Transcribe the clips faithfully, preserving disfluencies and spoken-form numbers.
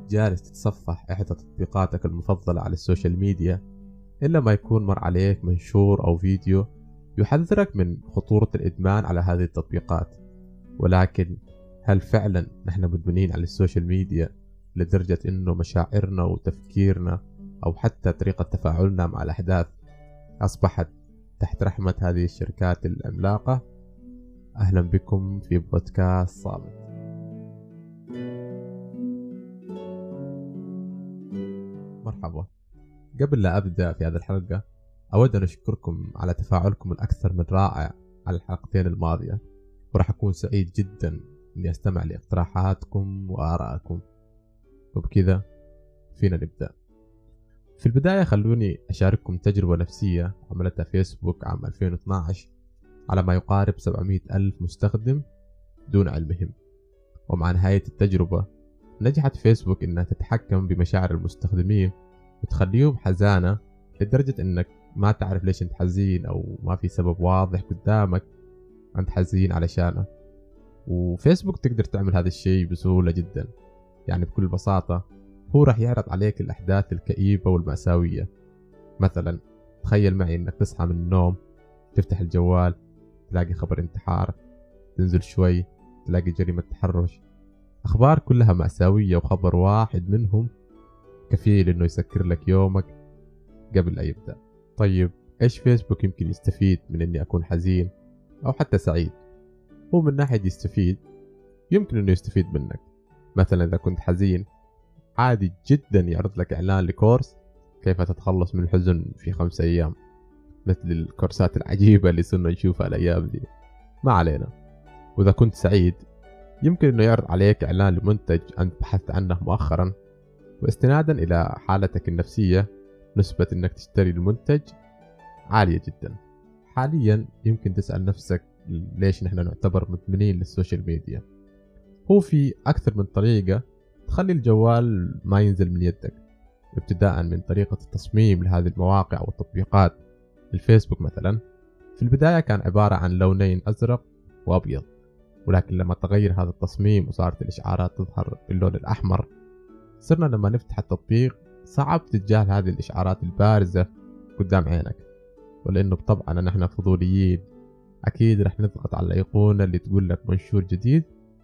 جالس تتصفح إحدى تطبيقاتك المفضلة على السوشيال ميديا إلا ما يكون مر عليك منشور أو فيديو يحذرك من خطورة الإدمان على هذه التطبيقات. ولكن هل فعلا نحن مدمنين على السوشيال ميديا لدرجة إنه مشاعرنا وتفكيرنا أو حتى طريقة تفاعلنا مع الأحداث أصبحت تحت رحمة هذه الشركات العملاقة؟ أهلا بكم في بودكاست صامت. مرحبا. قبل لا أبدأ في هذه الحلقة أود أن أشكركم على تفاعلكم الأكثر من رائع على الحلقتين الماضية، وراح أكون سعيد جدا أني أستمع لاقتراحاتكم وآرائكم. وبكذا فينا نبدأ. في البداية خلوني أشارككم تجربة نفسية عملتها فيسبوك عام ألفين واثني عشر على ما يقارب سبعمائة ألف مستخدم دون علمهم. ومع نهاية التجربة نجحت فيسبوك إنها تتحكم بمشاعر المستخدمين وتخليهم حزانة لدرجة إنك ما تعرف ليش أنت حزين أو ما في سبب واضح قدامك أنت حزين علشانه. وفيسبوك تقدر تعمل هذا الشيء بسهولة جدا، يعني بكل بساطة هو راح يعرض عليك الأحداث الكئيبة والمأساوية. مثلا تخيل معي إنك تصحى من النوم، تفتح الجوال تلاقي خبر انتحار، تنزل شوي تلاقي جريمة تحرش، أخبار كلها مأساوية وخبر واحد منهم كفيل إنه يسكر لك يومك قبل لا يبدأ. طيب إيش فيسبوك يمكن يستفيد من إني أكون حزين أو حتى سعيد؟ هو من ناحية يستفيد، يمكن إنه يستفيد منك. مثلا إذا كنت حزين عادي جدا يعرض لك إعلان لكورس كيف تتخلص من الحزن في خمسة أيام، مثل الكورسات العجيبة اللي صرنا نشوفها الأيام دي. ما علينا. وإذا كنت سعيد يمكن إنه يعرض عليك إعلان لمنتج أنت بحثت عنه مؤخرا، واستنادا إلى حالتك النفسية نسبة إنك تشتري المنتج عالية جدا. حاليا يمكن تسأل نفسك ليش نحن نعتبر مدمنين للسوشيال ميديا. هو في أكثر من طريقة تخلي الجوال ما ينزل من يدك، ابتداء من طريقة التصميم لهذه المواقع والتطبيقات. الفيسبوك مثلا في البداية كان عبارة عن لونين أزرق وأبيض، ولكن لما تغير هذا التصميم وصارت الإشعارات تظهر باللون الأحمر، صرنا لما نفتح التطبيق صعب تتجاهل هذه الإشعارات البارزة قدام عينك. ولأنه بطبعنا نحن فضوليين أكيد رح نضغط على الأيقونة اللي تقول لك منشور جديد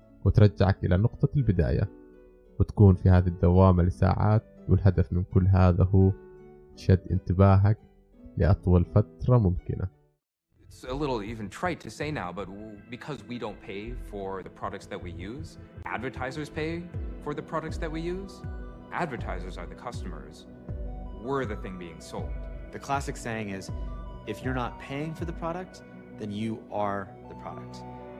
وترجعك إلى نقطة البداية، وتكون في هذه الدوامة لساعات. والهدف من كل هذا هو شد انتباهك لأطول فترة ممكنة. It's a little even trite to say now, but because we don't pay for the products that we use, advertisers pay for the products that we use. Advertisers are the customers. We're the thing being sold. The classic saying is, if you're not paying for the product, then you are the product.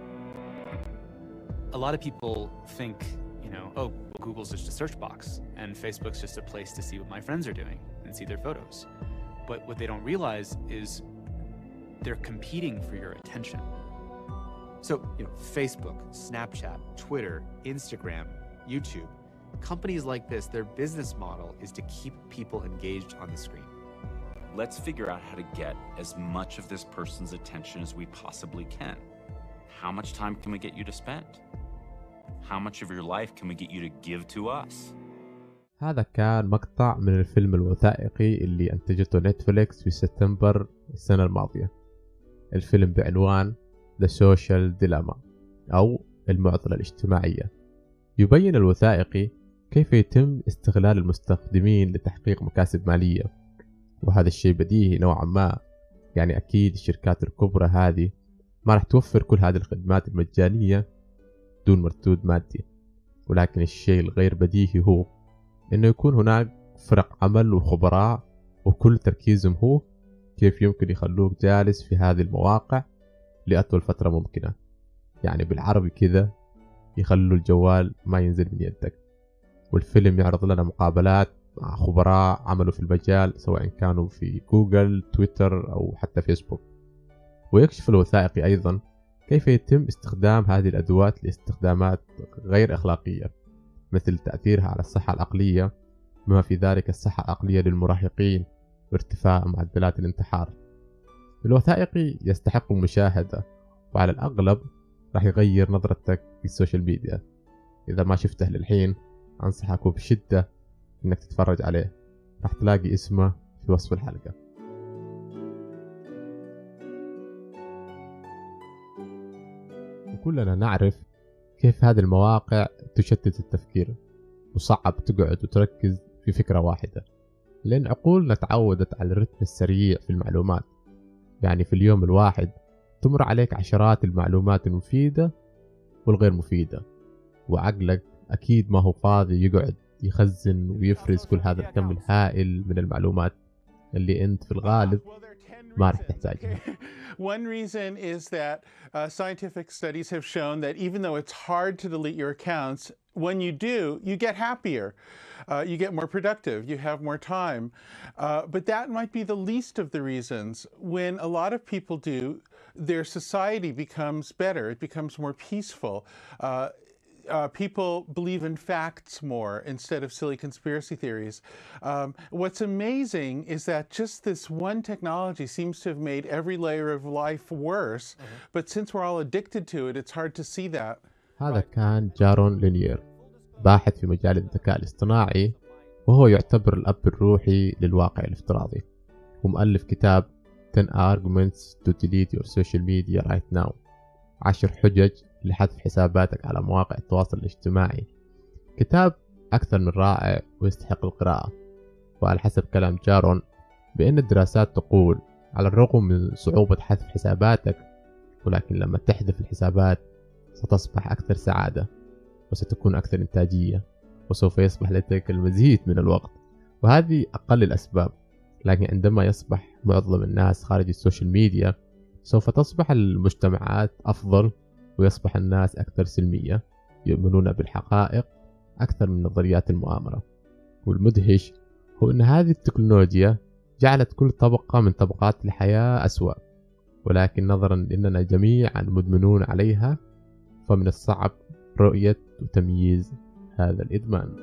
A lot of people think, you know, oh, well, Google's just a search box and Facebook's just a place to see what my friends are doing and see their photos. But what they don't realize is they're competing for your attention. So, you know, Facebook, Snapchat, Twitter, Instagram, YouTube, companies like this, their business model is to keep people engaged on the screen. Let's figure out how to get as much of this person's attention as we possibly can. How much time can we get you to spend? How much of your life can we get you to give to us? هذا كان مقطع من الفيلم الوثائقي اللي أنتجته نتفليكس في سبتمبر السنة الماضية. الفيلم بعنوان The Social Dilemma أو المعضلة الاجتماعية. يبين الوثائقي كيف يتم استغلال المستخدمين لتحقيق مكاسب مالية، وهذا الشيء بديهي نوعا ما. يعني أكيد الشركات الكبرى هذه ما راح توفر كل هذه الخدمات المجانية دون مردود مادي. ولكن الشيء الغير بديهي هو إنه يكون هناك فرق عمل وخبراء وكل تركيزهم هو كيف يمكن يخلوك جالس في هذه المواقع لأطول فترة ممكنة. يعني بالعربي كذا يخلوا الجوال ما ينزل من يدك. والفيلم يعرض لنا مقابلات مع خبراء عملوا في المجال سواء كانوا في جوجل، تويتر أو حتى فيسبوك. ويكشف الوثائقي أيضا كيف يتم استخدام هذه الأدوات لاستخدامات غير أخلاقية، مثل تأثيرها على الصحة العقلية، بما في ذلك الصحة العقلية للمراهقين وارتفاع معدلات الانتحار. الوثائقي يستحق المشاهدة، وعلى الأغلب راح يغير نظرتك في السوشيال ميديا. إذا ما شفته للحين أنصحك بشدة إنك تتفرج عليه، راح تلاقي اسمه في وصف الحلقة. وكلنا نعرف كيف هذه المواقع تشتت التفكير وصعب تقعد وتركز في فكرة واحدة، لأن عقولنا تعودت على الرتم السريع في المعلومات. يعني في اليوم الواحد تمر عليك عشرات المعلومات المفيدة والغير مفيدة، وعقلك أكيد ما هو فاضي يقعد يخزن ويفرز كل هذا الكم الهائل من المعلومات اللي أنت في الغالب ما رح تحتاجها. One reason is that uh, scientific studies have shown that even though it's hard to delete your accounts, when you do, you get happier, uh, you get more productive, you have more time. Uh, but that might be the least of the reasons. When a lot of people do, their society becomes better, it becomes more peaceful. Uh, Uh, people believe in facts more instead of silly conspiracy theories. Um, what's amazing is that just this one technology seems to have made every layer of life worse. Mm-hmm. But since we're all addicted to it, it's hard to see that. هذا كان جارون لينير، باحث في مجال الذكاء الاصطناعي، وهو يعتبر الأب الروحي للواقع الافتراضي، ومؤلف كتاب ten arguments to delete your social media right now، عشر حجج لحذف حساباتك على مواقع التواصل الاجتماعي. كتاب أكثر من رائع ويستحق القراءة. وعلى حسب كلام جارون بأن الدراسات تقول على الرغم من صعوبة حذف حساباتك، ولكن لما تحذف الحسابات ستصبح أكثر سعادة وستكون أكثر إنتاجية، وسوف يصبح لديك المزيد من الوقت. وهذه أقل الأسباب، لكن عندما يصبح معظم الناس خارج السوشيال ميديا سوف تصبح المجتمعات أفضل، ويصبح الناس أكثر سلمية، يؤمنون بالحقائق أكثر من نظريات المؤامرة. والمدهش هو أن هذه التكنولوجيا جعلت كل طبقة من طبقات الحياة أسوأ، ولكن نظرا لأننا جميعا مدمنون عليها فمن الصعب رؤية وتمييز هذا الإدمان.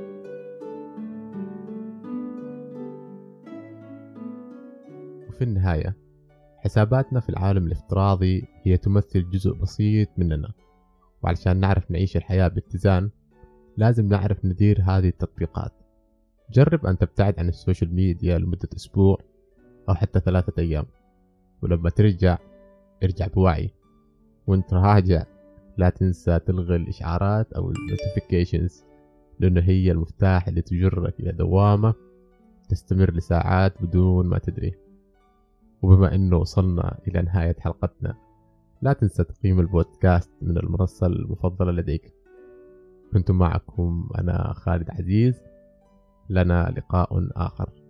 وفي النهاية حساباتنا في العالم الافتراضي هي تمثل جزء بسيط مننا، وعلشان نعرف نعيش الحياة باتزان لازم نعرف ندير هذه التطبيقات. جرب أن تبتعد عن السوشيال ميديا لمدة أسبوع أو حتى ثلاثة أيام، ولما ترجع ارجع بوعي، وانت راجع لا تنسى تلغي الإشعارات أو النوتيفيكيشنز، لأنه هي المفتاح اللي تجرك إلى دوامة تستمر لساعات بدون ما تدري. وبما أنه وصلنا إلى نهاية حلقتنا، لا تنسى تقييم البودكاست من المنصة المفضلة لديك. كنت معكم أنا خالد عزيز، لنا لقاء آخر.